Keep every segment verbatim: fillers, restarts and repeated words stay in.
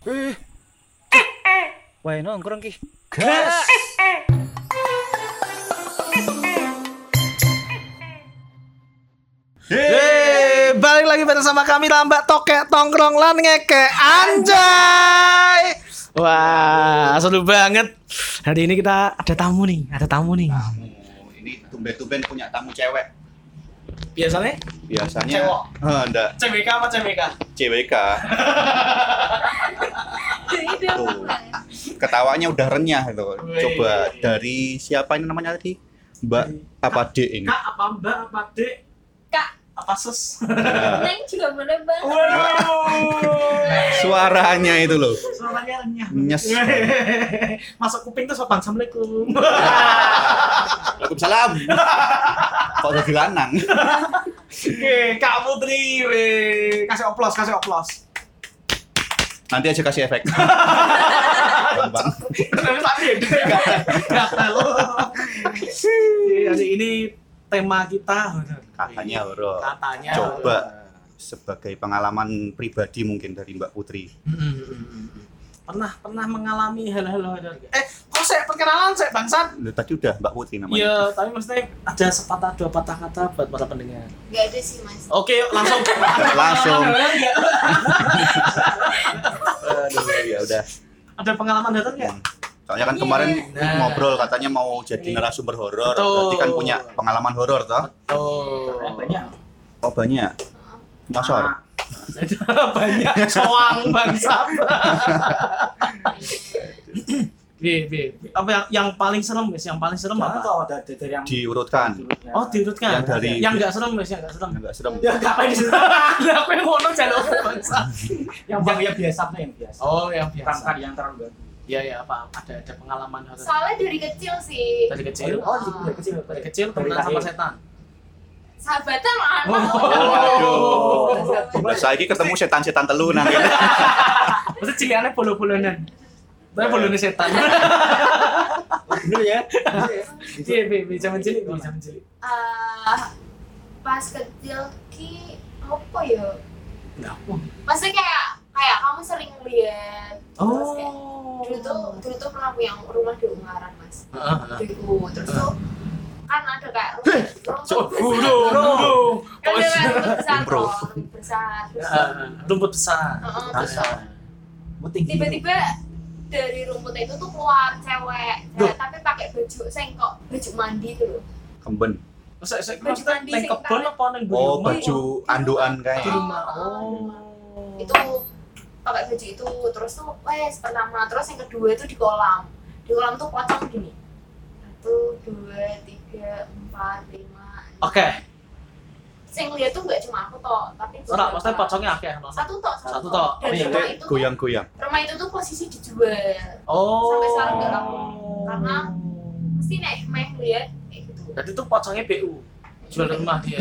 Eh. Wae nongkrong ki. Gas. Hei, balik lagi bersama kami Lambat Tokek Tongkrong lan Ngeke Anjay. Wah, seru banget. Hari ini kita ada tamu nih, ada tamu nih. Tamu. Ini tumben-tumben punya tamu cewek. Biasanya? Biasanya Cewek. Eh, enggak, C W K apa C W K? C W K. Tuh. Ketawanya udah renyah itu. Coba dari siapa ini namanya tadi? Mbak apa Dek ini? Kak apa Mbak apa Dek? Kak, Apa Sus? Nah, Neng juga boleh bang. Waduh. suaranya itu loh. Suaranya renyah. Nyes. Masuk kuping tuh sopan. Assalamualaikum. Waalaikumsalam. Kok udah dilanang? Oke, Kak Putri, weh. Kasih oplos, kasih oplos. Nanti aja kasih efek. Gampang. Tapi tadi gatal. Hari ini tema kita Katanya horor. Katanya Coba sebagai pengalaman pribadi mungkin dari Mbak Putri. pernah pernah mengalami hal-hal horor. Eh, kok saya perkenalan saya bangsat? Loh, tadi udah Mbak Putri namanya. Iya, tapi maksudnya ada sepatah dua patah kata buat para pendengar. Gak ada sih mas. Oke, yuk, langsung Langsung. Aduh, ya udah. Ada pengalaman horor nggak? Soalnya kan kemarin Nah. ngobrol katanya mau jadi narasumber horor, Betul. berarti kan punya pengalaman horor toh? Oh, Banyak. Oh banyak. Masor. banyak soang bangsat. Bi, bi. Apa yang yang paling serem guys? Yang paling serem apa? Tahu ada dari yang Diurutkan. Oh, diurutkan. Yang dari- yang enggak serem guys, yang enggak serem. Enggak serem. ya ngapain di situ? Lah aku yang ngono jaluk bangsa. Yang yang yang biasa tuh yang biasa. Oh, yang Bukan biasa. yang terlalu baru. Iya, ya, apa? Ada ada pengalaman horor. Soalnya dari kecil sih. Dari kecil. Oh, dari kecil. Dari kecil Dari temenan sama lahir. setan. Sahabatan lah. Oh, Waduh. Nah, saya ini ketemu setan-setan telunan gitu. Mesti ciliannya bolo-bolonan. Tapi bolone setan. Bener ya? Iya, bi, bi, zaman cilik, bi, zaman cilik. Eh, pas kecil ki apa ya? Enggak apa. Maksudnya kayak kayak kamu sering lihat. Terus kayak Oh. dulu tuh dulu tuh pernah punya rumah di Ungaran mas. Heeh. Dulu terus tuh kan ada kayak rumah rumah Oh, besar. bulu, bulu. Kan ada kayak rumah besar, Impro. toh, rumah besar. Terus Heeh, rumput besar. Heeh, terus tuh Putih. tiba-tiba dari rumput itu tuh keluar cewek, Duh. cewek tapi pakai baju sengkok, baju mandi tuh loh. Kemben. Terus saya saya Baju maksudnya mandi neng sing kebon tarik. apa neng Oh, bulu? baju anduan Di kayak. rumah. Oh. Itu pakai baju itu terus tuh wes pertama, terus yang kedua itu di kolam. Di kolam tuh pocong gini. Satu, dua, tiga, empat, lima. Oke. Sing lihat tuh nggak cuma aku toh, tapi Ora, beberapa. maksudnya pocongnya akeh. no? Satu toh, Satu toh. Dan Ini rumah itu tuh, goyang-goyang. rumah itu tuh posisi dijual. Oh. Sampai sekarang nggak laku. Karena mesti nek meh lihat kayak gitu. Berarti itu pocongnya B U. Jual rumah dia.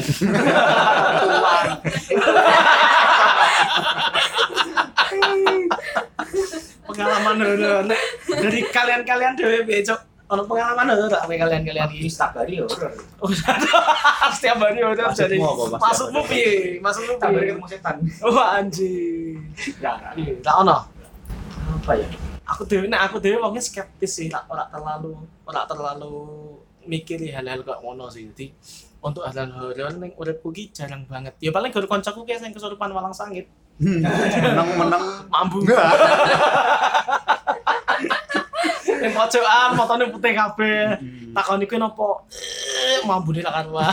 Pengalaman horor. Nek, dari kalian-kalian dhewe piye, Cok? Ono pengalaman horor tak kowe kalian-kalian iki? Setiap hari ya horor. Oh, setiap hari horor jadi. Maksudmu apa, Mas? Maksudmu piye? Maksudmu Setiap hari piye? ketemu setan. Oh, anjing. Ya, Iya, tak ono. apa ya? Aku dhewe nek aku dhewe wongnya skeptis sih, tak ora terlalu ora terlalu mikiri hal-hal kok ngono sih. Jadi untuk hal-hal horor ning uripku ki jarang banget. Ya paling guru kancaku ki sing kesurupan walang sangit. Menang-menang. Mambu. Ning pojokan motone putih kabeh. Takon iku napa? Eh, mambune lak karuan.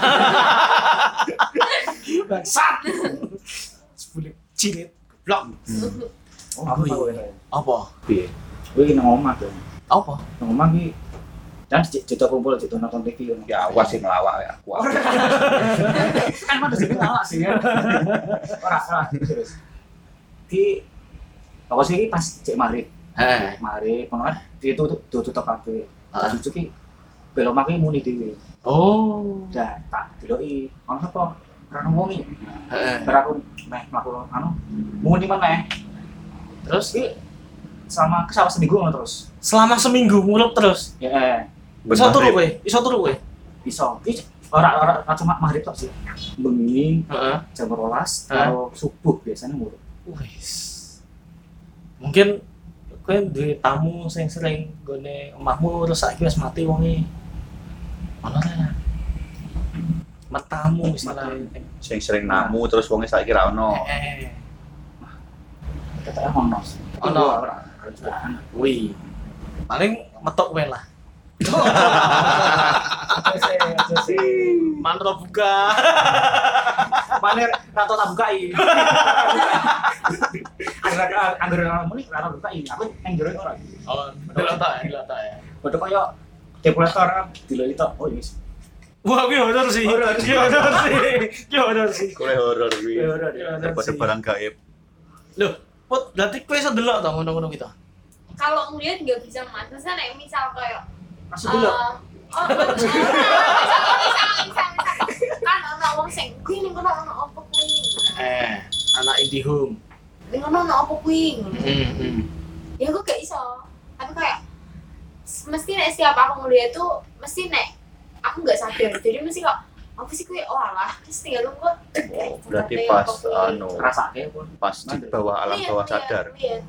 Bangsat. Sebulik cilit. Blok. Oh, aku tahu ya. Apa? Piye? Kowe iki nang omah tuh. Apa? Nang omah iki dan cerita kumpul cerita nonton T V. Ya awas sih ngelawak ya. Aku. Kan mana sih ngelawak sih ya. Ora, ora, serius. Ki apa sih pas cek mari. Heh. Mari kono kan itu tuh tutup kabeh. Ah. Cucu ki belok maki muni dhewe. Oh. Dan tak deloki ono sapa? Ora ngomongi. Heeh. Bar aku meh mlaku anu muni meneh. Terus ki sama kesawah seminggu ngono terus. Selama seminggu ngurup terus. Ya eh Iso turu kowe, iso turu kowe. iso. Ki ora ora ora cuma maghrib tok sih. Bengi Heeh. jam dua belas Hah? karo subuh biasanya mulu. Wis. Mungkin kowe duwe tamu sing sering nggone omahmu terus saiki wis mati wonge. Ono ta? Matamu istilahnya. Sing sering namu terus wonge saiki ra ono. Eh. Ketara ono. Ono. Ora. Wih. Paling metok kowe lah. Mantra buka. Mana rato tak bukai. Angger angger muni rato bukai. Aku nang jero ora. Oh, delok ta, delok ta ya. Padha kaya dekorator dilok itu. Oh yes. Wah, kuwi horor sih. Horor. Kuwi horor sih. Kuwi horor sih. Kowe horor kuwi. Horor. Daripada barang gaib. Loh, Put, berarti kowe iso delok ta ngono-ngono gitu. Kalau ngeliat nggak bisa mas, misalnya nek misal kayak Masuk dulu. eh, oh, oh, oh, misal, misal, misal, misal, kan ono wong sing kuwi ning kono ono apa kuwi? Eh, anak IndiHome. Ning kono ono apa kuwi? Hmm, hmm. Ya aku gak iso. Tapi kayak mesti nek siapa aku ngeliat tuh mesti nek aku nggak sadar. Jadi mesti kok apa sih kuwi? Oh alah, terus tinggal lu kok. Berarti pas anu Rasake pun. pas di bawah alam bawah sadar.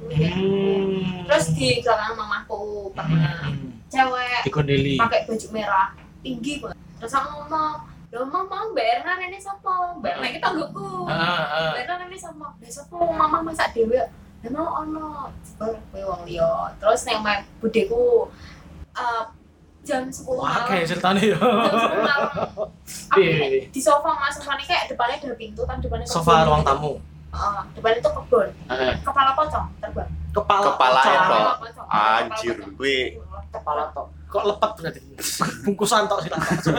Hmm. Terus di belakang mamaku pernah cewek dikondeli. pakai baju merah tinggi banget. Terus aku ngomong, "Loh, mama, Mbak Erna ini sapa? Mbak Erna iki tanggoku." Heeh, heeh. Mbak Erna ini sama. Lah sapa mama masak dhewe? Lah mau ono. Jebul kowe wong liya. Terus nek mek budeku eh jam sepuluh Wah, malam. kayak ceritanya ya. Jam sepuluh malam. Aku Iya, iya, iya. di sofa mas sofa ini kayak depannya ada pintu kan depannya Sofa kebun. ruang tamu. Heeh, depannya tuh kebun. Heeh. Kepala pocong terbang. Kepala Kepala pocong. itu. Kepala pocong. Anjir, Kepala pocong. kuwi Kepala tok. Kok lepet berarti? Bungkusan tok silang. Terus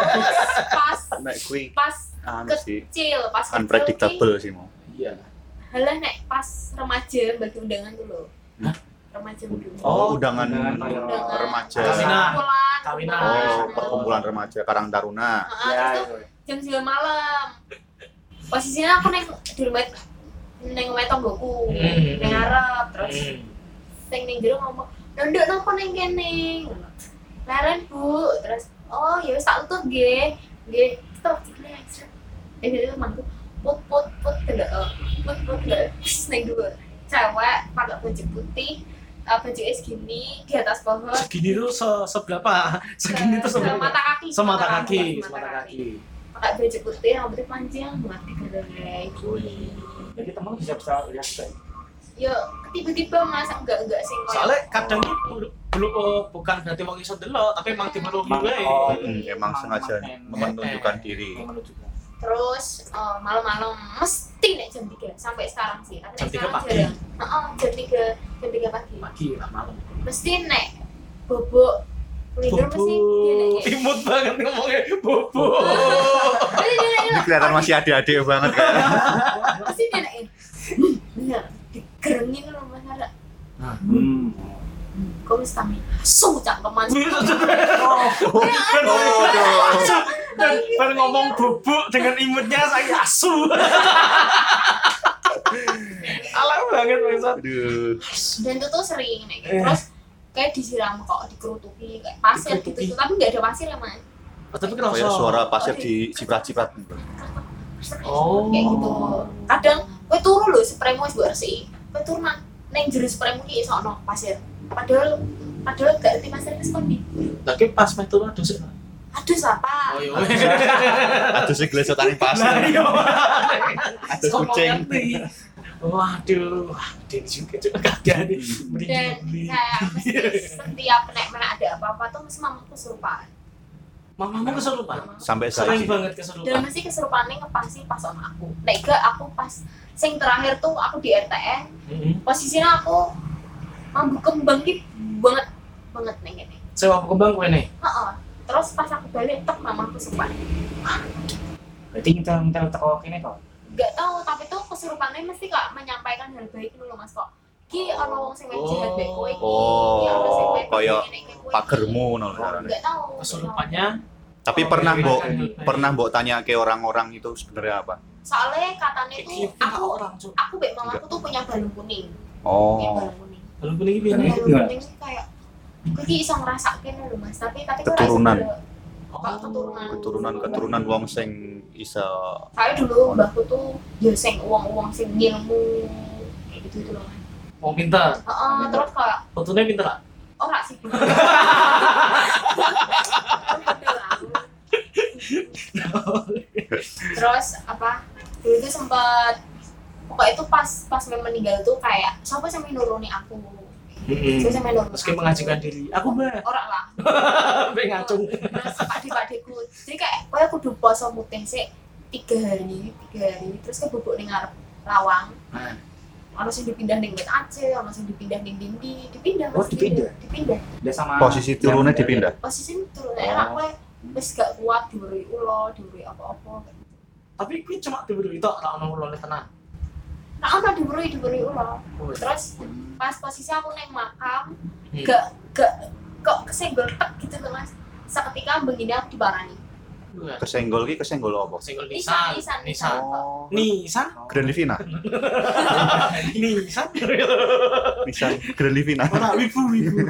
pas nek kuwi pas anu sih kecil pas kecil ki, unpredictable sih mau. Iya. halah nek pas remaja bagi undangan dulu. Hah? Remaja dulu. Oh, undangan Undangan. remaja. Kawinan. Perkumpulan. Kawinan. Oh, perkumpulan remaja Karang Taruna. Heeh, Ya. terus tuh jam sembilan malam. Posisinya aku neng di rumah neng rumah tonggoku, Hmm. neng Arab, terus Hmm. sing neng jero ngomong, "Nduk napa neng kene?" Laren, Bu. Terus, "Oh, ya wis tak tutup nggih." Nggih, stop cikne. Eh, itu mantu. Put put put tidak. Put put tidak. Neng dulu. Cewek pakai baju putih, eh, baju es gini di atas pohon. Segini tuh se seberapa? Segini tuh seberapa? Semata kaki. Semata kaki, semata semata kaki. Pakai baju putih, rambutnya panjang, mati gerai. Jadi teman bisa bisa lihat juga. Yo, tiba-tiba mas enggak enggak sing koyo- Soalnya kadang itu belum oh, bukan berarti wong iso delok, tapi emang timeluk Emang- wae. oh, Hmm, emang sengaja menunjukkan diri. Yang menunjukkan. Terus eh, malam-malam mesti nek jam tiga sampai sekarang sih. Tapi nek Jam tiga sekarang pagi. jarang. Heeh, jam tiga jam tiga pagi. Pagi lah malam. Mesti nek bobok tidur Bobo. mesti dia nek. Imut banget ngomongnya bobo. Mesti dia nek. Ini kelihatan masih adik-adik banget kan. Mesti dia nek. Bener, digerengin loh Mas Ara. Hmm. Kok wis tami. Su cangkeman. Dan baru ngomong bubuk dengan imutnya saya asu. Alam banget maksud. Aduh. Dan itu tuh sering nek Eh. terus kayak disiram kok dikerutuki kayak pasir gitu, Dikerutuki. tapi nggak ada pasir ya Mas. Oh, tapi kenapa? Kayak suara pasir di ciprat-ciprat. Oh. Kayak gitu. Kadang kowe turu lho spraymu wis mbok resiki. Kowe turu nang ning jero spraymu ki iso ono pasir. Padahal padahal gak ngerti pasir wis kondi. Tapi pas meh turu aduh sih. Aduh siapa? Oh iya. Aduh sih gelesotan pasir. Lah iya. Ada kucing. Waduh, dia juga juga kaget nih. Dan kayak mesti setiap nek mana ada apa-apa tuh mesti mamaku kesurupan. Mamamu kesurupan. Sampai Sering saat ini. banget Dan kesurupan. mesti kesurupannya ngepasi pas sama aku. Nek gak aku pas sing terakhir tuh aku di R T N, Heeh. posisinya aku mambu kembang ki banget banget ning kene. Sewa kembang kowe nih. Heeh. Terus pas aku balik tek mamaku kesurupan. Berarti kita kita teko kene kok. Gak tahu tapi tuh kesurupannya mesti kak menyampaikan hal baik dulu mas kok. Ki ono wong sing jahat baik kowe. Oh, Ki ono sing baik koyo ngene iki, kowe iki. pagermu no. Gak tahu. Kesurupannya Tapi Oh, pernah iya, mbok iya, iya. pernah mbok tanya ke orang-orang itu sebenarnya apa? Soalnya katanya kayak tuh gitu aku orang cuk. aku baik mamaku tuh punya balung kuning. Punya Oh, balung kuning. Belum kuning iki piye? Balung- Balung gimana? kuning sih kayak kowe ki iso ngrasakne lho mas, tapi tapi kowe Keturunan. ora iso ndelok. Kok keturunan. keturunan-keturunan wong sing isa Saya dulu mbahku tuh ya sing uang-uang sing ngilmu kayak gitu itu loh. Mas. Mau pinter. Heeh, terus kayak Fotonya pinter lah. ora sih. Terus apa? Dulu itu sempat pokoknya itu pas pas Mem meninggal tuh kayak siapa sih yang nuruni aku. Heeh. Terus yang nuruni. Meski mengajukan diri. Aku mbak. Ora lah. Sampai ngacung. Terus adik-adikku. Jadi kayak kowe kudu poso mutih sik tiga hari, tiga hari terus ke bubuk ning ngarep lawang. Nah. Ono sing dipindah ning Met Aceh, ono sing dipindah ning Dindi, dipindah. Oh, Mas, dipindah? Dipindah. Dia sama Posisi turunnya dipindah. Posisi turun enak kowe wis gak kuat diurui ulo, diurui apa-apa. Tapi kuwi cuma diburu itu ora ono ulone tenan. Nah, ono diurui, diurui ulo. Oh, Terus pas posisi aku neng makam, Hmm. gak gak kok kesenggol tek gitu loh Mas. Seketika begini aku diparani. Wah, Kesenggol ki kesenggol apa? senggol Nisan, nisan. nisan, Nisan. Oh. Nisan. Grand Livina. Nisan. Nisan Grand Livina. Ora wibu wibu.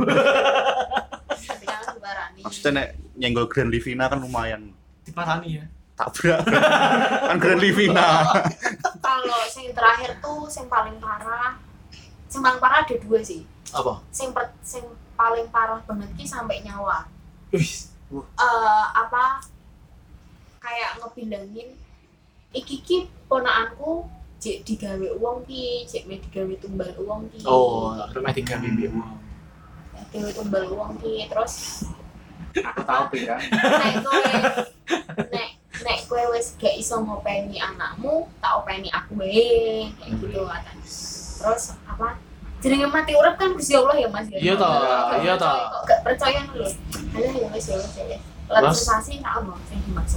Ketika aku diparani. Maksudnya nek nyenggol Grand Livina kan lumayan Diparani ya. tabrak. Kan Grand Livina. Kalau yang terakhir tuh yang paling parah, yang paling parah ada dua sih. Apa? Yang per, yang paling parah banget ki sampai nyawa. Wih. Eh apa? Kayak ngebilangin iki ki ponakanku jek digawe uang ki, jek me digawe tumbal uang ki. Oh, rumah tiga bibi. Digawe tumbal uang ki terus aku tahu beda. nek kowe nek nek kowe wis gak iso ngopeni anakmu, tak openi aku wae kayak gitu katanya. Terus apa? Jenenge mati urip kan Gusti Allah ya Mas ya. Iya toh, Gak iya toh. percaya kok, gak percaya lho. Alah ya wis ya wis ya. Lalu sensasi tak ono sing dimaksud.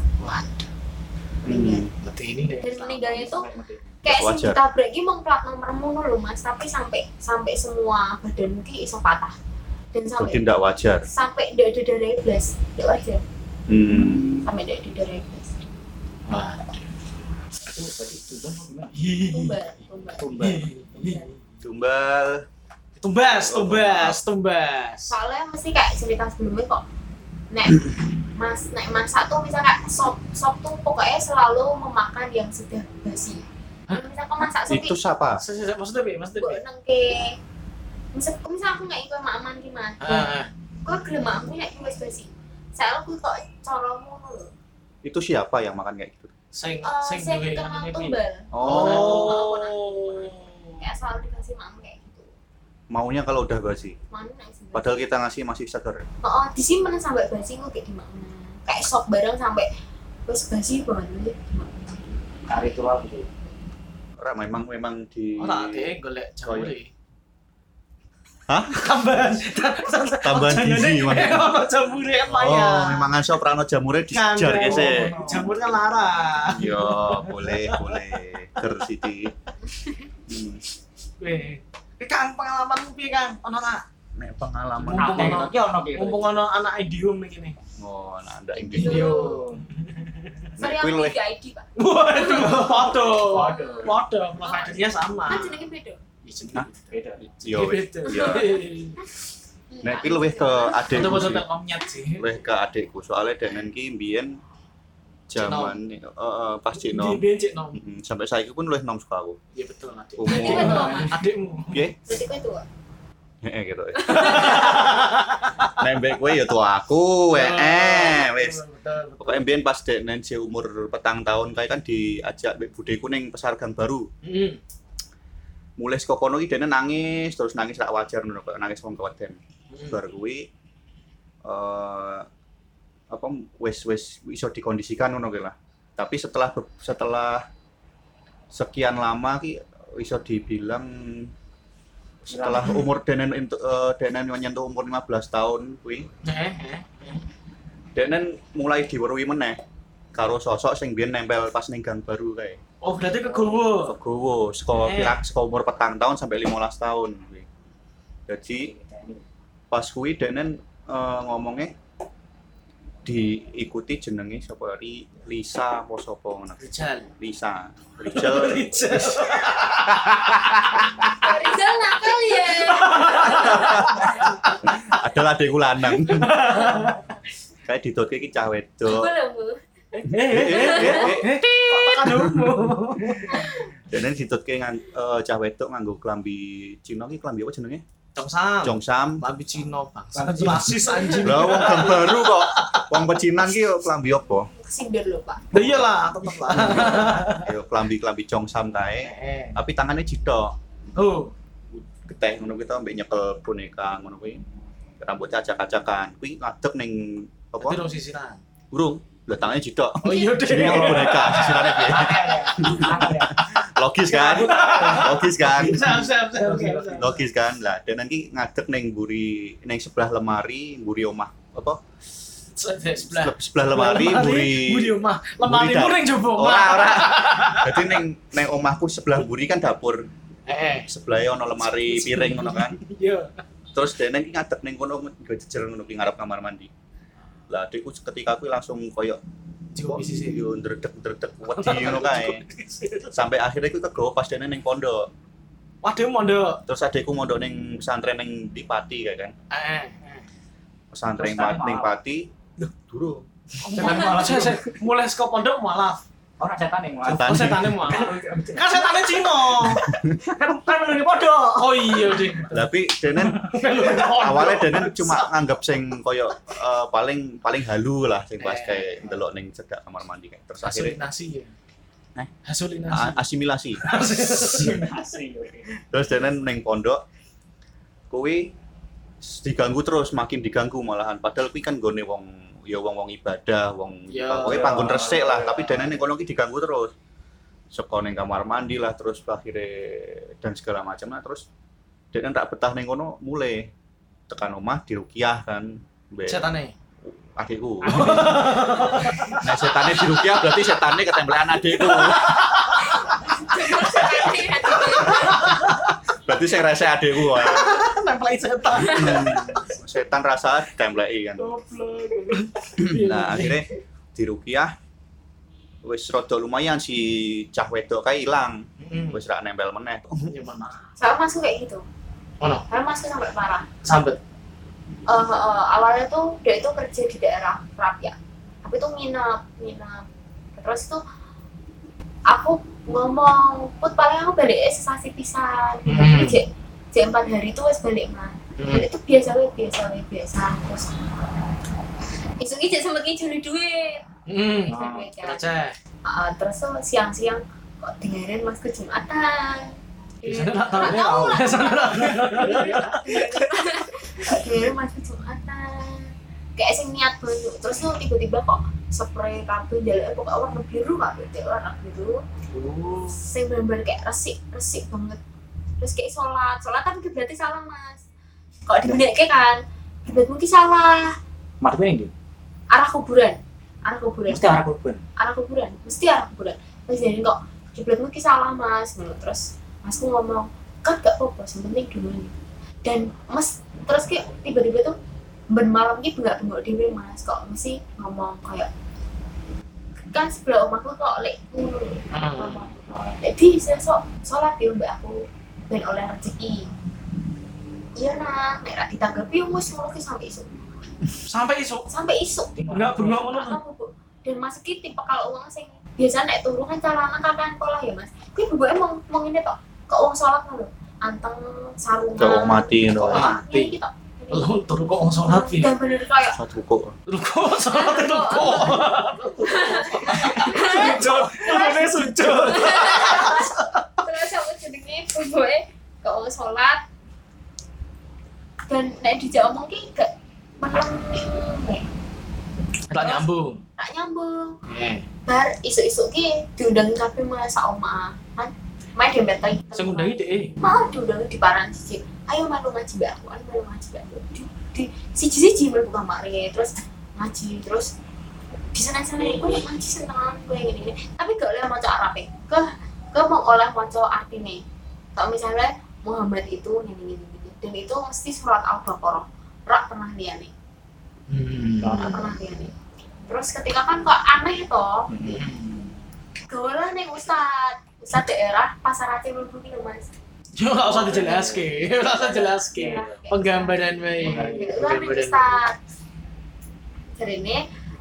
Hmm. Berarti ini deh. Dan meninggalnya itu kayak sing Wajar. ditabrak ki mung plat nomormu lho Mas, tapi sampai sampai semua badan ki iso patah. Dan Berarti sampai tidak wajar. sampai ndak ada darah iblis. Ndak wajar. Hmm. Sampai ndak ada darah iblis. Wah. Itu berarti tujuan apa gimana? Tumbal, tumbal. Tumbal. Tumbal. Tumbas, tumbas, tumbas. Soalnya mesti kayak cerita sebelumnya kok nek mas nek masak tuh misalnya kayak sop sop tuh pokoknya selalu memakan yang sudah basi. Misal kau masak sop Itu siapa? Saya saya maksudnya bi, maksudnya gue bi. nengke misal misal aku nggak ikut makan gimana Ah, gue gelem aku nggak ikut basi saya aku kok coromu loh Oh, Itu siapa yang makan kayak gitu? sing Eh, sing saya duwe kenal anune bi. tumbal Oh, Oh. kayak selalu dikasih makan kayak gitu maunya kalau udah basi. mana nggak sih Padahal kita ngasih masih segar. oh disimpan sampai basi gue kayak dimakan kayak sop bareng sampai wes basi banget nih dimakan Ritual gitu. Ora memang memang di Ora deh golek jamure. Hah? Tambahan. Tambahan gizi, Mas. Ono jamure kan Oh, lumayan. memang ngasih prano jamure disejar Kan, kese. Jamur kan larang. Yo, boleh, boleh. Ger siti. Hmm. Weh. Ki Kang pengalamanmu piye Kang? Ono nak? Nek pengalaman Mumpung Nah, ono- iki ono ki. Mumpung ono anak idiom iki nih. oh, nah ndak ing Iya. video. sorry Nek kuwi aku luwih tiga I D pak Waduh, foto. Waduh. Foto, providernya sama. kan jenenge beda Hah? Beda. Yo, wis. Beda. Iya. Nek kuwi luwih ke adikku. Foto-foto sih. telkomnya sih. Luwih ke adikku soalnya denen ki mbiyen zaman heeh pas Di Cino. becek nom. Mm, sampai saiki pun luwih nom suka aku. Iya betul adik. Umur. Berarti betul, Mas. Adikmu. Piye? berarti kowe tua Heeh gitu. Nek mbek kowe ya tua aku, heeh, wis. Betul, betul. Pokoknya mbiyen pas denen si umur petang tahun kae kan diajak mbek budeku ning Pasar Gang Baru. Hmm. Mulai saka kono ki dene nangis, terus nangis rak wajar ngono kok nangis wong keweden. Bar kuwi eh apa wis wis iso dikondisikan ngono ki lah. Tapi setelah be- setelah sekian lama ki iso dibilang setelah umur denen entuk eh, denen nyentuh umur lima belas tahun kuwi Eh, eh. denen mulai diweruhi meneh karo sosok sing biyen nempel pas ning Gang Baru kae. Oh, berarti kegowo. Kegowo saka Eh. kira saka umur petang tahun sampai lima belas tahun kuwi. Jadi pas kuwi denen eh, ngomongnya diikuti jenenge sapa Ri Lisa apa sapa ngono. Rijal. Lisa. Rijal. Rijal. Rizal nakal ya Adalah adekku lanang. Kayak didotke iki cah wedok. boleh bu Eh, eh, eh, eh, eh, kok tekan umum. Dene ditutke ngan eh, cah wedok nganggo klambi Cina ki klambi apa jenenge? Congsam. Jongsam. Lambi Cina bangsa. Rasis anjing. Lah wong gang baru kok. Wong pecinan ki yo klambi apa? Sindir lho, Pak. Lah iyalah, tetep lah. Yo klambi-klambi jongsam kae. Eh. Tapi tangannya jidok. Oh, Geteh ngono kita ambek nyekel boneka ngono kuwi. Rambutnya acak-acakan. Kuwi ngadeg ning apa? berarti dong sisiran. Burung. Lah tangannya jidok. Oh iya deh. Jadi nyekel boneka sisirane piye? Logis kan? Logis kan? Siap, siap, siap. siap. Logis kan? Lah dan nanti ngadeg ning mburi ning sebelah lemari, mburi omah apa? Sebelah. Sebelah lemari, mburi Buri omah. Lemari Buri muring coba. Ora, ora. Dadi ning ning omahku sebelah mburi kan dapur. Eh, Sebelahnya ono lemari piring ngono kan. iya. Terus dene iki ngadeg ning kono nggo jejer ngono ki ngarep kamar mandi. Lah adikku ketika aku langsung koyo Jiwa sisi. yo ndredeg-ndredeg wedi ngono kae. Sampai akhirnya aku kegawa pas dene ning pondok. Waduh mondok. Terus adikku mondok ning pesantren ning di Pati kae kan. Eh. Pesantren Terus tadi ning malah. Pati. Loh, durung. Setan malah. Saya, saya mulai saka pondok malah. Ora setan yang malah. Setan. Oh, setane malah. Kan setane Cina. Kan kan menurut podok. Oh iya, Ding. Tapi dene awalnya dene cuma nganggap sing koyo eh, paling paling halu lah sing pas Eh. kayak ndelok ning cedak kamar mandi kayak. Terus akhirnya Hasolinasi ya. Eh? Hasolinasi. a- asimilasi. Asli. Terus dene ning pondok kuwi diganggu terus, makin diganggu malahan. Padahal kuwi kan gone wong ya wong-wong ibadah, wong Ya, pokoke ya. panggon resik lah, tapi dene ning kono ki diganggu terus. Saka ning kamar mandi lah terus akhirnya dan segala macam lah terus dene tak betah ning kono mulai tekan omah diruqyah kan. Mbek Setane. adikku. Nek setane diruqyah berarti setane ketemplekan adikku. Berarti sing rese adikku wae. Nempel setan. Hmm, setan rasa ditempleki kan. Goblok. Nah, akhirnya diruqyah wis rada lumayan si cah wedok kae ilang. Hmm. Wis ra nempel meneh. Ya mana? Saya masuk kayak gitu. Oh no, Saya masuk sampai parah. sambet. Eh, eh, awalnya tuh dia itu kerja di daerah Rapia. Tapi tuh nginep, nginep. Terus tuh aku ngomong, put paling aku balik sesasi pisan. Hmm. Tapi jek jek empat hari itu wes balik mah. Hmm. Balik itu biasa wes biasa wes biasa. Terus isu jek sama juli duit. Hmm. Juli duit ya. Receh. Ah, terus tuh siang-siang kok dengerin mas ke Jumatan. Biasanya tak tahu ya. Biasanya tak Dengerin mas ke Jumatan. Kayak sing niat banget. Terus tuh tiba-tiba kok spray kabel jalan pokoknya warna biru kabel kayak warna biru. tahu. Saya benar-benar kayak resik resik banget. Terus kayak sholat sholat kan berarti salah mas. Kalau dibenekke kan kiblat mungkin salah. Mati ini dia. Arah kuburan arah kuburan Mesti arah korban. arah kuburan mesti arah kuburan. Terus jadi kok kiblat mungkin salah mas. Terus masku ngomong kan gak apa-apa yang penting dulu nih. Dan mas terus kayak tiba-tiba tuh ben malam gitu nggak bengok dewe mas kok mesti ngomong kayak kan sebelah omahku kok lek ngono. Hmm. Jadi saya sok sholat ya mbak aku ben oleh rezeki. Iya nak, nek ra ditanggapi wis ngono ki sampai isuk. Sampai isu. Sampai isuk. Enggak bengok ngono. Aku, Bu. Dan mas ki tipe kalau uang sing biasa nek turu kan calana kakan pola ya mas. Kuwi bubuke mau mau ngene tok. Kok wong sholat ngono. Anteng sarungan. Kok wong mati ngono. Kok wong Mati. mati tok. Lu turu kok wong salat ya. Dan bener kayak Satu kok. Lu kok salat itu kok. Sujud. Turune sujud. terus aku jenenge bubuke kok wong sholat. Dan nek dijak omong ki gak meleng. Tak nyambung. Tak nyambung. Eh, Bar isu-isu ki diundangin kabeh mas sak omah. Kan main dempet lagi. sing ngundangi dhek. Mau diundangin di paran siji. Ayo melu ngaji mbak aku, ayo melu ngaji mbak aku. Di, di siji-siji mlebu kamare terus ngaji terus di sana-sana iku nek ngaji seneng kowe ngene-ngene. Tapi gak oleh maca Arabe. Ke ke mau oleh maca artine. Kalau misalnya Muhammad itu ngene-ngene dan itu mesti surat Al-Baqarah. Rak pernah liyane. Hmm. Rak pernah liyane. Terus ketika kan kok aneh toh, Hmm. gawelah ning ustad, ustad daerah Pasar Aceh mlebu ki lho Mas. Yo enggak usah dijelaske. Enggak usah dijelaske. Penggambaran wae. Itu kan ning ustad. Jarine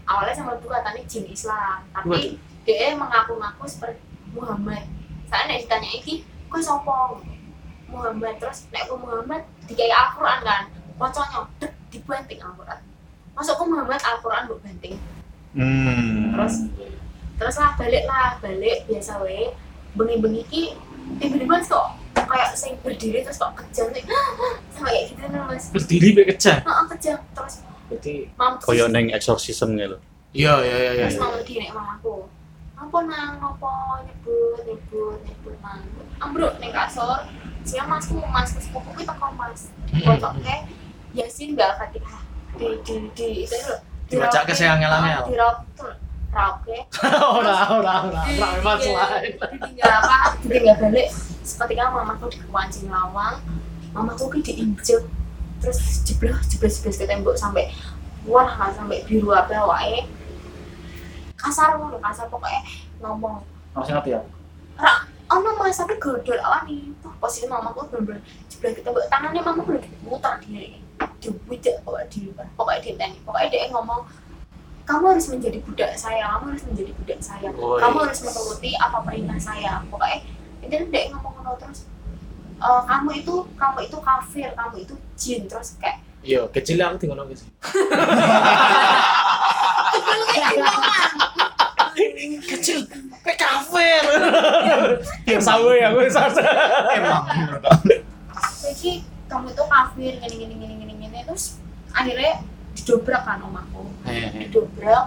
awalnya sama ibu katanya jin Islam, tapi dia mengaku-ngaku seperti Muhammad. Saya nek ditanya iki, kowe sapa? Muhammad. Terus nek aku Muhammad dikai Al-Qur'an kan, pocoknya dek dibanting Al-Qur'an. Masuk ke Muhammad Al-Qur'an mbok banting. Hmm. Terus terus lah balik lah, balik biasa wae. Bengi-bengi ki tiba-tiba kok kayak sing berdiri terus kok kejang nih. Sama kayak gitu nih Mas. Berdiri be kejang. Heeh, kejang. Terus Berarti mam Koyo neng exorcism gitu. iya iya iya iya. terus mau di nek mamaku. Apa nang apa nyebut nyebut nyebut nang. Ambruk ning kasur. Siang masku masku sepupu ki teko Mas. Fotoke Yasin gal Fatihah. Di di di itu lho. Dibaca ke sayang ngelangel. Di rok tuh. Rauke. Ora ora ora. Ora memang selain. Ditinggal apa? Ditinggal balik. Seketika mamaku dikewancing lawang. Mamaku ki diinjek. Terus jeblos jeblos jeblos ke tembok sampai wah nggak sampai biru apa wae. Kasar ngono, kasar pokoknya ngomong. Masih ngerti ya? Rak, ono Mas tapi godol awani. Tuh posisi mamaku bener-bener jeblos ke tembok. Tangannya mamaku udah muter diri. Dibujuk pokoknya di pokoknya di tani. Pokoknya dia ngomong kamu harus menjadi budak saya, kamu harus menjadi budak saya, Oh, kamu iya. harus menuruti apa perintah saya. Pokoknya itu dia ngomong ngono terus. Uh, kamu itu kamu itu kafir, kamu itu jin terus kayak Iya, kecil aku tinggal nongki sih. Kecil, kayak kafir. Ya sawe ya, gue sasa. Emang. jadi kamu itu kafir gini gini gini gini gini terus akhirnya didobrak kan omaku, Hehehe. didobrak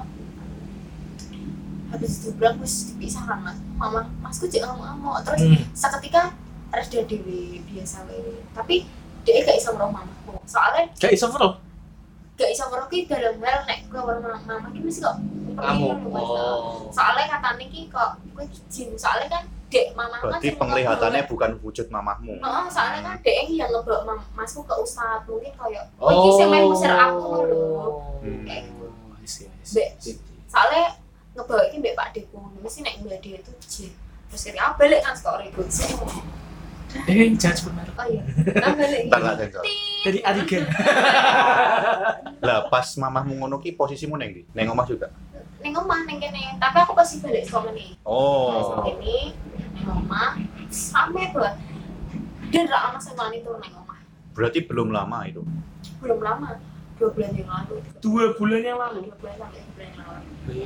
habis didobrak terus dipisahkan mas, mama masku jangan ngamuk terus Hmm. seketika reda dewi biasa wae tapi dia gak bisa ngeroh mamaku soalnya Gak iso bro. gak bisa ngeroh ki dalam hal nek gue baru mama ki mesti kok Kamu. pergi, Mas. Oh. Soalnya katanya ki kok gue jin soalnya kan dek mama Berarti penglihatannya bukan wujud mamahmu. oh, soalnya kan dek yang ngebawa mam- masku ke ustad mungkin kayak oh ini sih main musir aku lho Hmm. kayak I see, I Mbak. see. soalnya ngebawa ini mbak Pak Deku mesti nek mbak dia itu jin terus ketika balik kan sekolah ribut sih Eh, jangan sebut merek. oh iya kan balik Entar nggak sensor. Dari Arigen. Lah pas mamahmu ngono ki posisimu neng ndi? Neng omah juga. neng omah neng kene tapi aku pasti balik sekolah nih Oh. ini neng omah sampai buat dia nggak anak sama itu neng omah Berarti belum lama itu. belum lama dua bulan yang lalu Dua bulan yang lalu. dua bulan sampai dua bulan yang lalu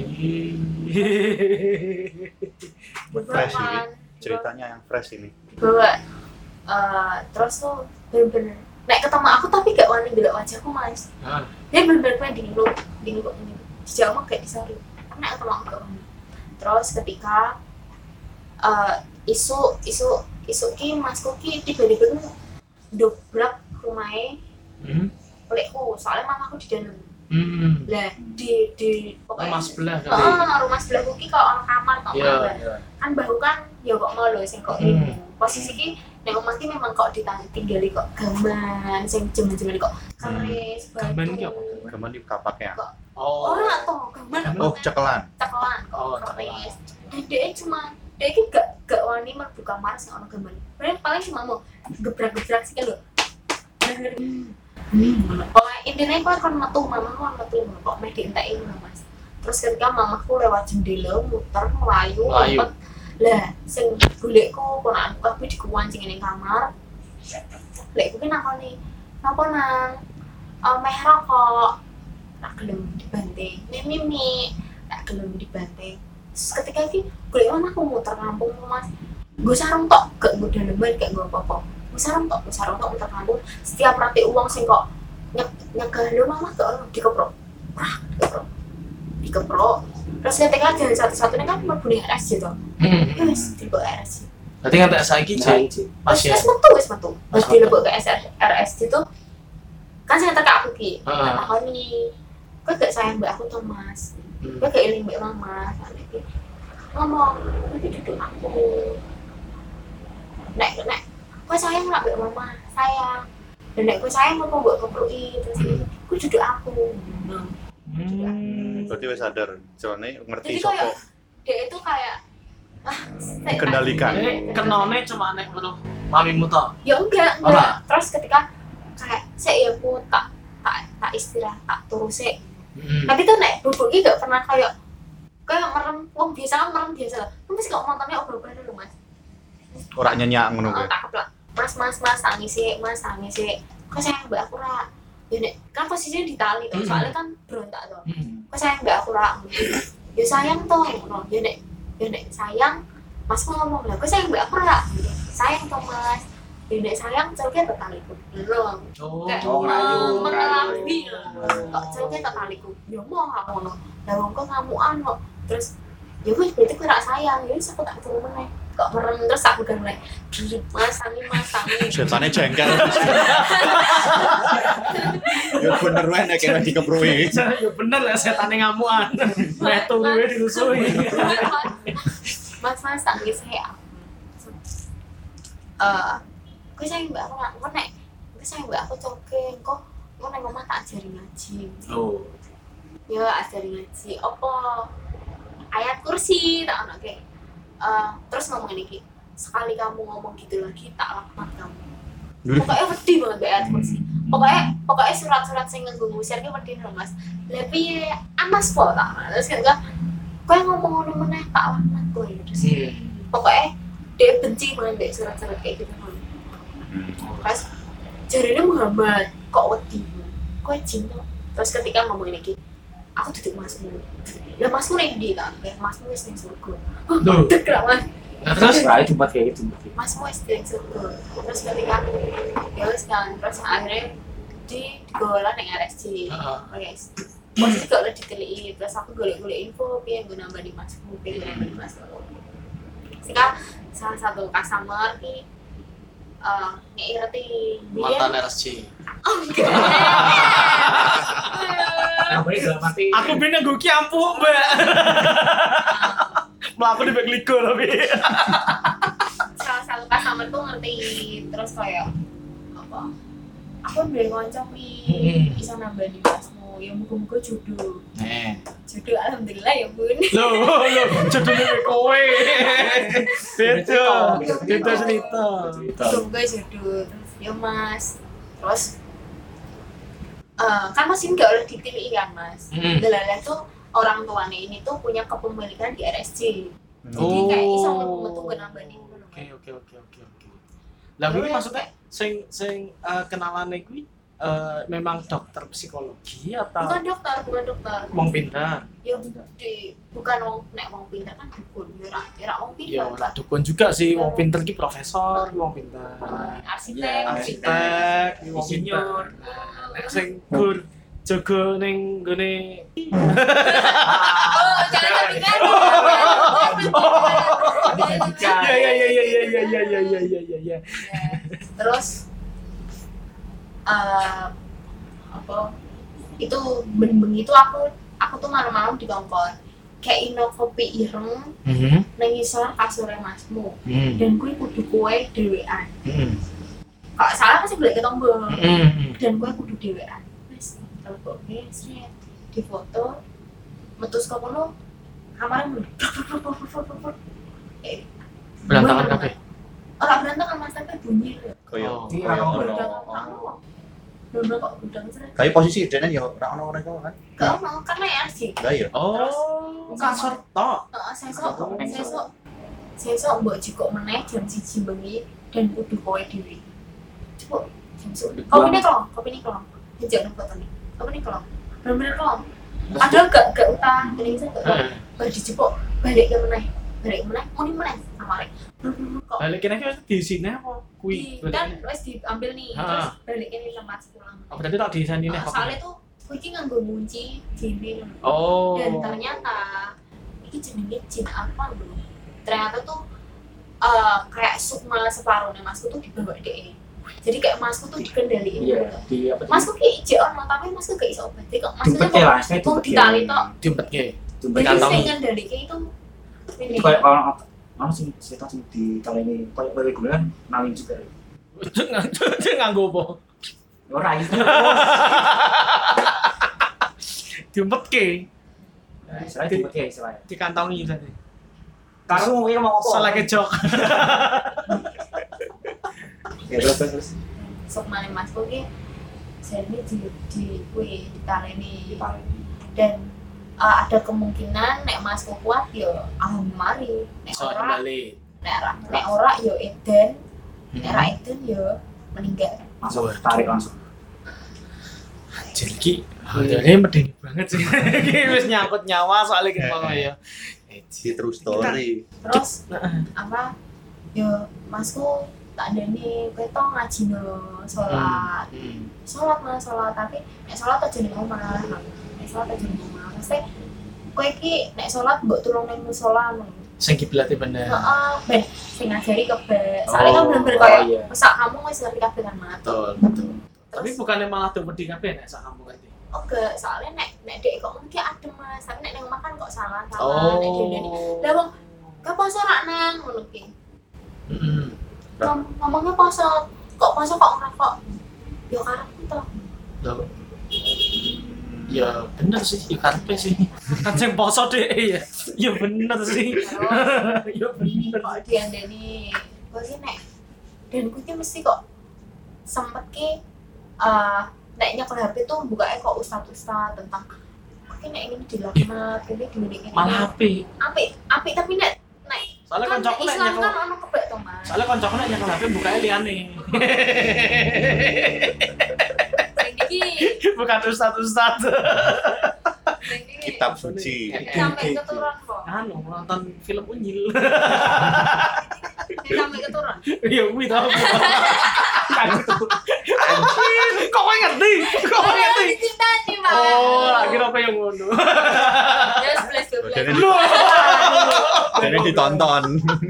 Fresh ini. Dibawa kan, Ceritanya yang fresh ini. dibawa eh, terus tuh bener-bener nek ketemu aku tapi gak wani ndelok wajahku mas Ah. dia bener-bener kayak dingluk dingluk ini dijauh mah kayak disari karena ketemu aku gak wani terus ketika eh, isu isu isu ki masku ki tiba-tiba tuh dobrak rumahnya Hmm. olehku soalnya mamaku di dalam Hmm. lah di di Rumah sebelah kali. oh, rumah sebelahku ki kok orang kamar kok Iya, kamar iya. kan bahu kan ya kok mau lho sing kok Hmm. ini posisi ki nek omah ki memang kok ditinggali kok gaman sing jemen-jemen kok keris batu Gaman ki apa? Gaman di kapaknya. Oh. ora toh gaman apa Oh, cekelan. cekelan kok Oh, keris dan dia cuma dia ki gak gak wani mlebu kamar sing ono gaman paling paling cuma mau gebrak-gebrak sih kan lho oh intinya kok kan metu mamaku kan metu kok meh dientekin lho mas terus ketika mamaku lewat jendela muter melayu Melayu. ngumpet lah sing golekku ponakan tapi dikuwancing ning kamar lek kuwi nakoni napa nang oh, meh rokok tak gelem dibanting mimi mimi tak gelem dibanting terus ketika iki golek mamaku muter kampung mas gue sarung tok gak gue daleman gak gue apa-apa gue sarung tok gue sarung tok muter kampung setiap rati uang sing kok nyek nyegah lo mama gak ono dikeprok wah dikeprok dikeprok terus ketika jalan satu-satunya kan berbunyi R S J toh Hmm. wes dilebok R S J Berarti kan tak saiki Nah, Jin. Jin. wes Pasien. wes metu wes metu wes dilebok ke R S J tuh kan saya teka aku ki Heeh. tak takoni kok gak sayang mbak aku tuh mas Hmm. kok gak iling mbak mama soalnya ki ngomong nanti duduk aku nek nek kok sayang nggak mbak mama sayang dan nek kok sayang mau mbak kepruki terus kok duduk aku nah, Hmm. Berarti wis sadar. Soalnya ngerti Jadi sopo. kayak- dia itu kayak ah saya- Kendalikan. Eh, kenone cuma nek weruh mamimu tok. ya enggak Ora. enggak terus ketika kayak saya ya aku tak tak tak istirahat tak turu sih Hmm. Tapi tuh nek bubuk iki gak pernah kayak kayak merem, wong biasa kan merem biasa lah. Tapi kok mantannya obrol-obrol dulu mas. Ora nyenyak ngono Oh, kuwi. tak keplak. Mas mas mas tangis sih, mas tangis sih. Kok sayang mbak aku ra. Ya nek kan posisinya di tali tuh, Hmm. soalnya kan berontak tuh. Hmm. Kok sayang mbak aku ra. Ya sayang toh, ngono. Ya nek ya nek sayang, mas ngomong lah. Kok sayang mbak aku ra. Sayang toh mas. Ya nek sayang celke tetaliku. Lho. Oh. Kayak Oh, ngerayu, mengelabui. ngerayu. Kok celke tetaliku. Ya mau aku ngono. Lah wong kok ngamukan kok. Terus ya wis berarti kowe ra sayang. Ya wis aku tak turu meneh. Kok merem terus aku kan mulai mas tangi mas tangi. Setane jengkel. Ya bener wae nek kene dikepruwi. Ya bener lah setane ngamuan. Metu kuwi dirusuhi. Mas mas tangi saya. Eh, gue sayang mbak aku nggak ngenek. Gue sayang mbak aku coke. Kok gue neng omah tak ajari ngaji. Oh. Ya ajari ngaji. Apa ayat kursi tak ono kayak. Eh, terus ngomong ini sekali kamu ngomong gitu lagi tak laknat kamu. Pokoknya wedi banget mbak ayat kursi. Pokoknya pokoknya surat-surat sing nganggo ngusir ki wedi lho mas. Lah piye amas po tak. Terus kan kowe ngomong ngono meneh tak laknat kowe. Terus pokoknya dia benci banget deh surat-surat kayak gitu kan. Terus jarinya Muhammad kok wedi kok cinta. Terus ketika ngomong ini aku duduk masmu lah masmu nih di kan kayak masmu wis ning surga. Loh. Dek lah mas Nah, terus Rai Jumat kayak gitu. masmu wis ning surga. Terus ketika ya wis kan terus akhirnya di golan ning R S C. Heeh. Guys posisi gak udah diteliti terus aku golek-golek info piye gue nambah di masmu piye nambah di masmu. Sehingga salah satu customer ki uh, ngerti mantan R S C. Nah, baik dalam arti Aku bina gue kiampu, Mbak. Melaku di Bekliko tapi. salah satu customer tuh ngerti terus kayak apa aku udah ngoncok nih Hmm. bisa nambah di masmu ya muka-muka jodoh Eh. jodoh alhamdulillah ya bun. Loh, loh, judulnya kowe. Beda. Beda cerita. Muka-muka jodoh terus ya mas terus eh, kan mas ini gak udah dipilih kan mas. Hmm. Dalalah tuh orang tuanya ini tuh punya kepemilikan di R S C. Jadi Oh. kayak iso metu nambah nih. Oke, oke, oke, oke, oke. Lah kuwi maksudnya sing sing eh, kenalane kuwi eh, memang dokter psikologi atau Bukan dokter, bukan dokter. wong pintar? Ya di bukan wong nek wong pintar kan dukun, ya ora ya ora wong Ya pintar. ora dukun juga sih, wong pinter ki profesor, ki wong pintar. Arsitek, Arsitek, ki wong pintar. Nah, nek sing gur jaga ning gone Oh, jangan kepikiran. ya ya ya ya ya ya ya ya ya ya ya. Terus eh apa itu bengi itu aku aku tuh malam-malam di kongkon kayak ino kopi ireng Mhm. nang isor kasure masmu Mhm. dan kuwi kudu kowe dhewean. Mhm. Kok salah masih boleh ketemu Mhm. dan gue kudu dewean wes telepon wes di foto metus kok kono kamar mulai eh Berantakan kabeh. orang berantakan mas tapi bunyi Kaya Oh. Iya, orang gudang bener kok gudang seret kaya posisi dene ya ora ono mereka kan. gak mau karena ya sih Lah ya. Oh, kasur tok. sesok sesok sesok mbok jikok meneh jam siji bengi dan kudu kowe dhewe coba jam siji kopi ini kelong kopi ini kelong jangan nang foto nih kopi ini kelong bener-bener kelong padahal gak gak utang ini bisa gak Heeh. baru dijepuk balik ke meneh balik ke meneh mau di meneh kamare bener-bener kok Balik kene ki di sini apa kuwi? di kan wes diambil nih Ha. terus balik ke tempat pulang Oh, berarti tak di sini nih. soalnya tuh kowe iki nganggo kunci jin Oh. dan ternyata ini jenenge jin apa lho ternyata tuh eh kayak sukma separuhnya masku tuh dibawa deh jadi kayak masku tuh dikendaliin Iya, gitu. di apa? Masku kayak ije ono tapi masku gak iso obati kok maksudnya Dimpet ya lah, kok saya kok dimpet ya. ditali tok diempetke. Dimpet. jadi Dikantongi. sing ngendalike itu ini Itu kayak orang orang sih cerita sih di kali ini kayak reguler nalin juga. Cek nganggo apa? Ora itu. Diempetke. Saya dimpet ya istilahnya. Dikantongi tadi. Karena mau ngomong apa? Salah kejok. Ya terus terus. terus. sukma masku ki jadi di di kuwi ditaleni dan uh, ada kemungkinan nek masku kuat yo alhamdulillah mari nek So ora kembali. nek ora nek ora yo edan nek ora Hmm. edan yo meninggal Langsung tarik langsung. Anjir iki ini medeni banget sih. Iki wis nyangkut nyawa soalnya kita mau ya. Di true story. terus Heeh. apa yo masku tak ndene kowe to ngaji no salat Hmm. salat mas salat tapi nek salat aja ning omah nek salat aja ning omah mesti kowe iki nek salat mbok tulung ning musala ngono Sing kiblate bener. heeh ben sing ngajari kebek soalnya kan Oh, bener-bener oh, kaya iya. pesak kamu wis ngerti kabeh kan mat Betul, betul. Tapi terus bukannya malah tuh wedi kabeh nek sak kampung ngerti. oke soalnya nek nek dek kok mungkin adem mas tapi nek ning omah kan kok salah salah nek dene lah wong gak poso rak nang ngono ki Heeh. Ngom- ngomongnya poso kok poso kok ngerokok yo karepku to Loh. Ya bener sih, ikarpe sih. Kan sing poso deh ya. Ya bener sih. Ya bener. kok diandani gue ki nek dan gue ki mesti kok sempet ki eh nek nyekel H P tuh bukanya kok ustad-ustad tentang kok ki nek ini dilaknat ini gini gini Malah api. api api tapi nek nek Soalnya kan koncoku nek Islam nyekel kan ono kebek to mas Soalnya koncoku nek nyekel H P bukanya liane. sing iki Bukan ustad-ustad. sing iki Kitab suci. sampai keturun kok Anu nonton film Unyil. Sing sampai keturun Ya kuwi tau. Kok kowe ngerti? Kok kowe ngerti? diceritani mas Oh, lagi kira apa yang ngono. ya sebelas dua belas Jadi jadi ditonton.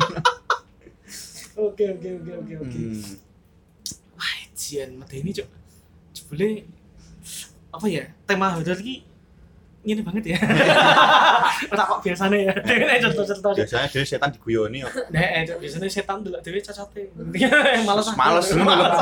Oke oke oke oke oke. Hmm. Wah, jian medeni cuk. Jebule apa ya? Tema horor iki ngene banget ya. Ora kok biasane ya. Nek cerita-cerita. Biasanya dia setan diguyoni kok. Nek cuk, biasane setan delok dhewe cacote. Males aku. Males males.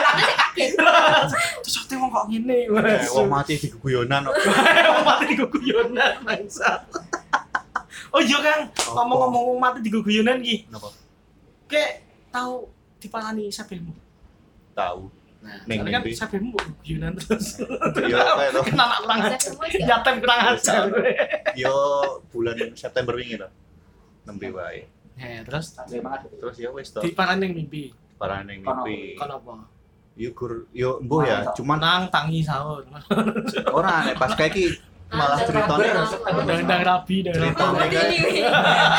Cacote wong kok ngene. Eh, Wong mati diguyonan kok. Wong mati diguguyonan bangsa. Oh iya Kang, ngomong-ngomong wong mati diguguyonan iki. Napa? Kayak tahu diparani sabelmu. Tahu. Nah, Ning soalnya kan mimpi. sabelmu mbok guyonan terus. Yo kayak to. Kena anak kurang ajar. Nyatem kurang ajar. Yo bulan September wingi to. Nembe wae. Ya, terus Sampai banget. Terus ya wis to. diparani ning mimpi. Parane ning mimpi. Kon apa? Yo gur yo mbuh ya, cuman Nang tangi sahur. ora nek pas kayak iki malah ceritanya Undang-undang rabi dan Ceritanya rabi. kayak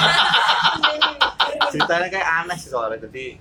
ceritanya kayak aneh sih soalnya jadi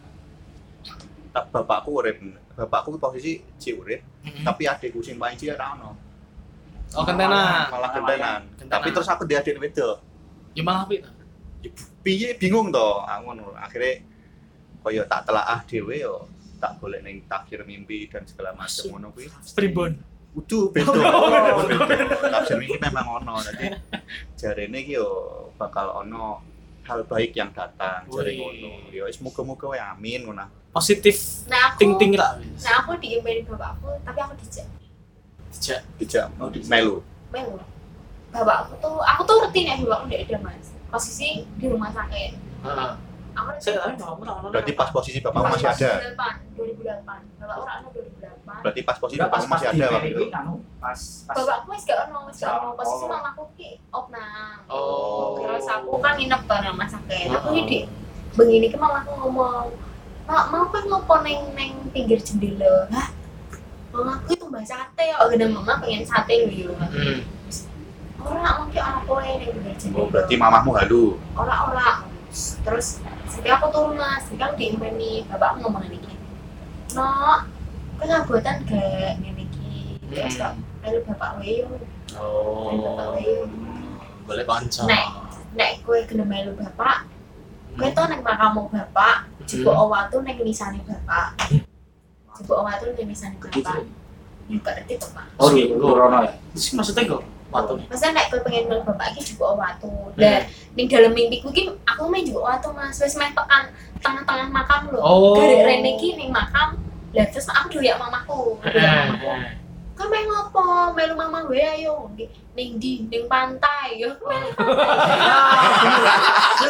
tak bapakku urip bapakku posisi ci urip tapi adikku sing paling cilik ora ono Oh, kentenan. malah gentenan Gentenan. tapi terus aku dia adik wedok Ya malah api to. ya, piye bingung to aku ngono akhirnya koyo tak telaah dhewe yo tak golek ning tafsir mimpi dan segala macam Masuk. ngono kuwi Pribon. Udu beda. Beda. Tafsir ini memang ono jadi jarene iki yo bakal ono hal baik yang datang jare Wih. ngono. Ya wis muga-muga wae amin ngono. Positif nah aku ting-ting lah. nah aku diimbanin bapakku tapi aku dijak Dijak. Dijak Oh, dijak. melu. melu bapakku tuh aku tuh ngerti nih bapakku udah ada mas posisi di rumah sakit Heeh. aku Saya tapi bapakmu ora ono. Berarti pas posisi bapakmu Pas masih ada. dua ribu delapan bapak orang anu dua ribu delapan Berarti pas posisi Enggak, pas bapakmu masih pas ada di waktu itu. P D I, anu, pas pas bapakku wis gak ono wis gak ono posisi Oh. mamaku ki opnang Oh. terus aku kan nginep tuh nang rumah sakit aku ini di begini ki mamaku ngomong mak mau kan ngopo neng neng pinggir jendela hah mamaku itu mbak sate ya oh gede mama pengen sate lho Hmm. orang mungkin apa ya neng pinggir jendela Oh, berarti mamahmu halu. orang-orang terus setiap aku turun mas setiap aku diimpeni bapakku ngomong ini gini no kau ngabuatan gak ngene iki terus kok ayo bapak weyo Oh. ayo bapak weyo Boleh kanca. Nek. nek kowe gelem melu bapak kowe to nang makamu bapak jebuk watu nang nisane bapak jebuk watu nang nisane bapak yo gak ngerti to Pak oh di Rono ya. Sih maksudnya kok waktu nih. Masa nek kowe pengen melu bapak iki jebuk watu dan ning dalam mimpiku iki aku main jebuk watu mas wis main tekan tengah-tengah makam lho Oh. dari rene iki ning makam lah terus aku dilihat mamaku dilihat mamaku kan main ngopo melu mama gue ayo Di- ning di ning pantai yo melu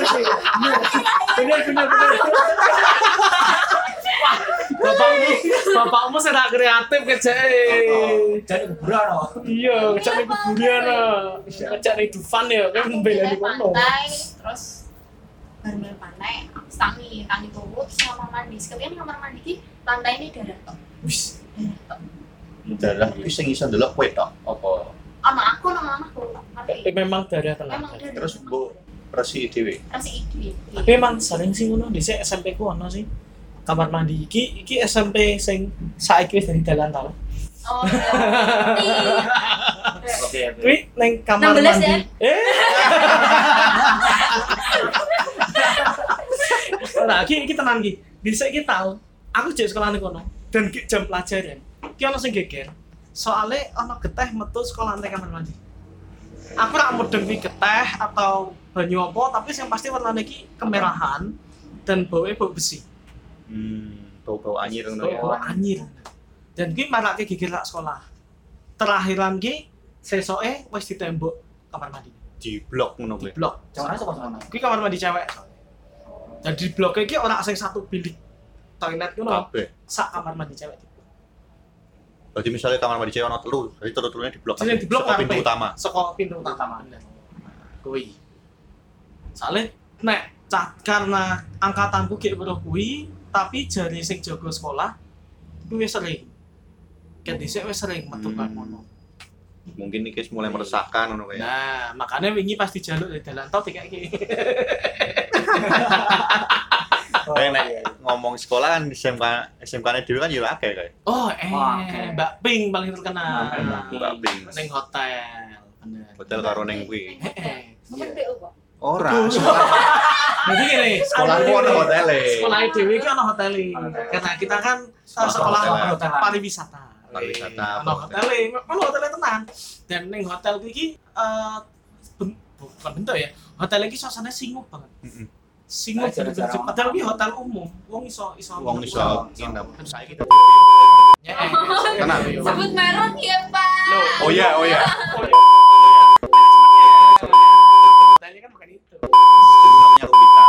Bener bener bener. Bapakmu, Bapakmu sing ra kreatif kejake. Jadi kuburan loh. Iya, ngejak ning kuburan ah. Ngejak ning Dufan ya, kan Aku mbelani pindah kono. pantai, terus bareng pantai, aku tangi, tangi turut, terus kamar mandi. Sekalian kamar mandi ki lantai ini darah tok. Wis. Dalah iki sing iso ndelok kowe tok apa Anak aku nang anakku, tapi Tapi memang darah tenan. memang darah. terus mbok resi dhewe. Rasi iki. Tapi emang sering sih ngono dhisik S M P ku ono sih. Kamar mandi iki iki S M P sing saiki wis dari dalan tau. Oh, berarti. Oke, oke. Kuwi ning kamar enam belas mandi. ya? Eh. Ora, iki iki tenan iki. Dhisik iki tau. Aku jek sekolah ning kono dan ki jam pelajaran. Ki ono sing geger. Soale ono geteh metu sekolah lantai kamar mandi. Aku ora mudeng kuwi geteh atau banyu apa, tapi yang pasti warnane iki kemerahan dan baunya bau besi. Hmm, bau-bau anyir ngono ya. Bau anyir. Dan kuwi marake geger lak sekolah. Terakhiran ki sesoke wis ditembok kamar mandi. Di blok ngono Di kuwi. blok. Jangan aja kok sama. Kuwi kamar mandi cewek. Dan di blok iki ora sing satu bilik toilet ngono. Kabeh. Sak kamar mandi cewek. Berarti misalnya kamar mandi cewek ono telu, berarti telu-telunya di blok. Jadi di blok Saka pintu ngarepe. utama. Saka pintu utama. Bener. Kuwi. Soale nek cah karena angkatanku ki weruh kuwi, tapi jare sing jaga sekolah kuwi wis sering. Ket dhisik wis sering metu Hmm. kaya ngono. Mungkin iki wis mulai meresahkan ngono kayak. Nah, makanya wingi pas dijaluk di dalan tol dikeki. Kayak nek ngomong sekolah kan S M K S M K-ne dhewe kan ya akeh kayak. Oh, eh, Oke. Mbak Ping paling terkenal. Mbak Ping. Ning hotel. Bener. Hotel karo ning kuwi. Heeh. Sampeyan B O kok. Ora. Jadi gini, Sekolahku ono hotele. sekolah dhewe iki ono hotel. Karena kita kan uh, sekolah hotel. pariwisata. Pariwisata, Ono apa hotel, ono hotel tenan. Dan ning hotel iki eh ben- bukan bentuk ya. Hotel iki suasananya singgup banget. Heeh. Singgup Aja bener-bener. jarang. Padahal iki hotel umum. Wong iso iso Wong iso nginep. Saiki dadi Ya, Tenang. Sebut merek ya, Pak. Oh iya, oh iya. Hotelnya kan bukan itu. Jadi namanya Rubita.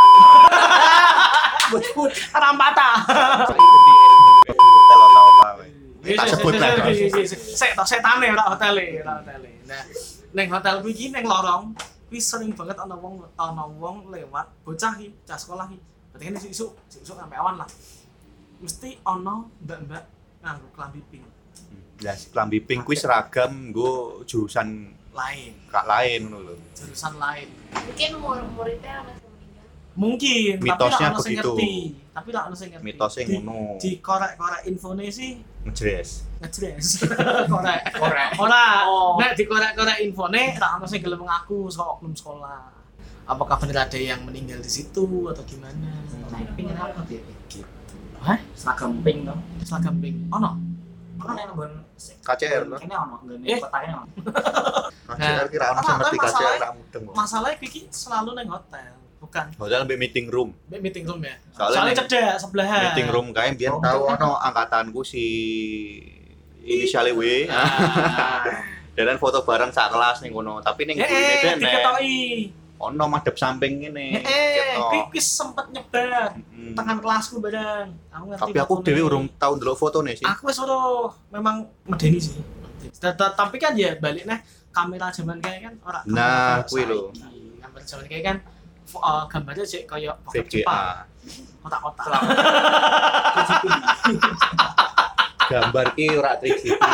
But Rampata. Saiki ganti Edu Hotel atau apa weh. Tak sebut lah. Sek tok setane ora hotele, ora hotele. Nah, ning hotel kuwi iki ning lorong kuwi sering banget ana wong ana wong lewat bocah iki, cah sekolah iki. Berarti kan isuk-isuk, isuk sampe awan lah. Mesti ana mbak-mbak nganggo klambi pink Ya, klambi pink kuwi seragam nggo jurusan lain, kak lain ngono lho. jurusan lain. Mungkin umur-umurnya masih meninggal. Mungkin, Mitosnya tapi lah ono sing begitu. ngerti. Tapi lah ono sing ngerti. Mitosnya Di- ngono. Di korek-korek infone sih Ngejres. ngejres. Korek. Korek. Ora, Oh. nek dikorek-korek infone ra ono sing gelem ngaku saka oknum sekolah. Apakah benar ada yang meninggal di situ atau gimana? Nah, pingin apa dia? Gitu. Hah? Seragam pink dong. Seragam pink. Ono. Kan yang nggon K C R lho. Kene ono nggon Eh. kotane ono. K C R kira ono sing ngerti K C R ra mudeng kok. Masalahnya iki selalu nang hotel, bukan Hotel mbek meeting room. Mbak meeting room ya. Soalnya Soalnya ning- cedek sebelahan. Meeting room kae biyen Oh, tau betul. ono angkatanku si inisiale W. Ah. Dan foto bareng sak kelas ning kono, tapi ning Eh, gurine eh, dene diketoki. ono madhep samping ngene. Eh, ketok. kuwi wis sempet nyebar Mm. tekan kelasku bareng. Aku ngerti. Tapi aku fotone. dhewe urung tau ndelok fotone sih. Aku wis ora memang medeni sih. Ta- ta- Tapi kan ya balik nah kamera zaman kayak kan ora Nah, kamera kuwi lho. saiki. Kamera zaman kayak kan fo- eh, gambarnya sih kayak V bokep G Jepang, A. kotak-kotak. Gambar ki ora tiga G P.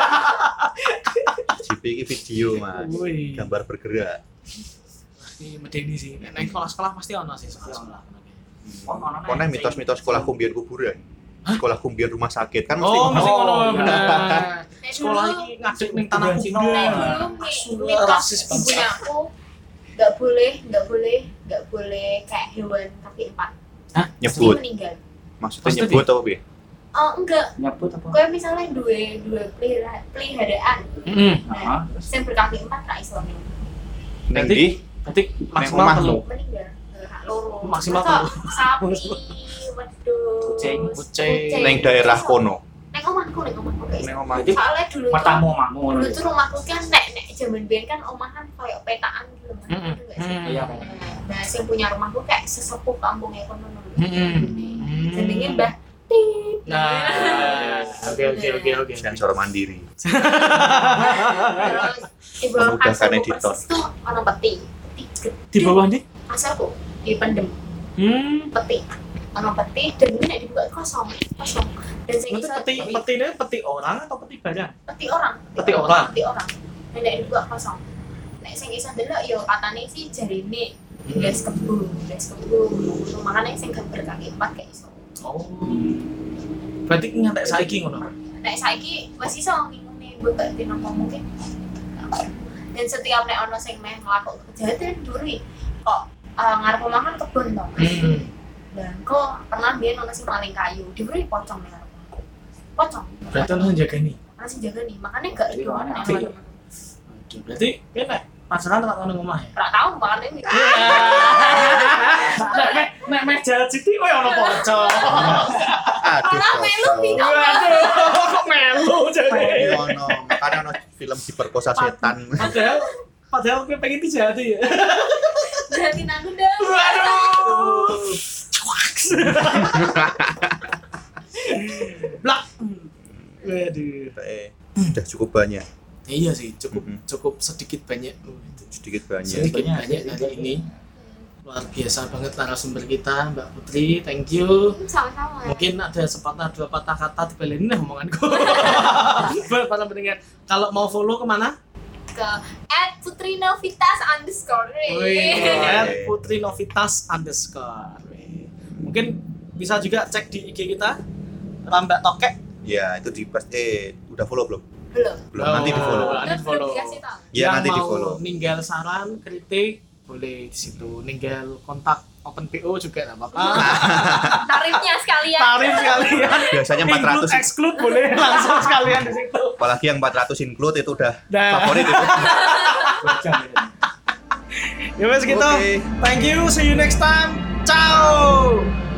G P iki video, Mas. Woi. Gambar bergerak. Ini medeni sih. Nek nang sekolah-sekolah pasti ono sih sekolah-sekolah. Ono ono. Kono mitos-mitos sekolah kumbian kuburan. Sekolah kumbian rumah sakit kan mesti Oh, mesti Oh, ngono iya. bener. Nek Sekolah dulu- iki ngadeg ning tanah Kuburan Cina. kuburan. Nek dulu mi- Asu, mitos rasis banget. ibunya aku nggak boleh, nggak boleh, nggak boleh kayak hewan kaki empat. Mesti nyebut. meninggal. Maksudnya Maksudnya nyebut apa piye? Oh enggak, Nyebut apa? kayak misalnya dua dua pelihara- peliharaan, Heeh. Heeh. yang berkaki empat ra iso Ning Berarti- ndi? Berarti maksimal omahmu. telu. meninggal. Nggak, loro. Maksimal Masa telu. sapi, wedhus, Kucing, kucing. Ning daerah kono. Nek omahku, nek omahku kayak Ning gitu. omah. Jadi Soalnya dulu tuh matamu omahmu ngono. dulu tuh rumahku kan nek nek zaman biyen kan omahan kayak petaan gitu kan. Mm-mm. Ngerti nggak sih? Mm. Iya. Nah, yang punya rumahku kayak sesepuh kampungnya kono dulu. Mm-mm. Jenenge Mbah Tip. Nah, oke oke oke oke. Sensor mandiri. Terus di bawah Memudahkan kasurku editor. persis tuh ono peti. Peti gede. Di bawah nih? Kasurku dipendem Hmm. peti. Ono peti dan ini nek dibuka kosong, kosong. Dan sing Nanti iso peti peti ini peti orang atau peti barang? peti orang, Peti orang. Peti orang. Dan nek dibuka kosong. Nek sing iso delok yo katane sih jarine belas kebo, belas kebo. Makane sing gambar kaki empat kayak iso. Oh. Berarti ngantek saiki ngono. Nek saiki wis iso ngingune mbok dino mungkin. Dan setiap nek ono sing meh nglakok kejahatan duri kok uh, ngarep omahan kebon to. Hmm. Dan kok pernah biyen ono sing maling kayu, diberi pocong nih ngarep. Pocong. Berarti ono jaga nih. Ono sing jaga nih, makanya gak Jadi rido mana? nek Oke. ono. Berarti kene pasaran tak ono omah ya. Ora tau makane ini. Nek nek nek meh jalan sithik kowe ono pocong. Aduh, Ora melu kosong. bino. Waduh, kok melu jadi. Iya, ono. Makanya ono film diperkosa setan. Padahal padahal kowe pengen dijati ya. Jadi aku dah. Waduh. Blak. Waduh. Eh, udah cukup banyak, Iya sih, cukup Mhm. cukup sedikit banyak. Oh, itu. sedikit banyak. Sedikit Banyak, banyak sedikit hari banyak. ini. Luar biasa banget narasumber kita, Mbak Putri. Thank you. Sama-sama. Mungkin ada sepatah dua patah kata dibalenin lah omonganku. Buat para pendengar, kalau mau follow kemana? Ke at Putri Novitas underscore. Wih, at Putri Novitas underscore. Wih. Mungkin bisa juga cek di I G kita, Rambak Tokek. Ya, itu di pas eh udah follow belum? Belum. Belum, nanti di follow. Oh, nanti di follow. Belum dikasih tahu. Ya, Yang nanti di mau follow. ninggal saran, kritik, boleh di situ. Ninggal kontak open P O juga enggak apa-apa. Tarifnya sekalian. Tarif sekalian. Biasanya empat ratus. Include, exclude boleh langsung sekalian di situ. Apalagi yang empat ratus include itu udah Nah. favorit itu. Ya wes gitu. Oke. Thank you. See you next time. Ciao.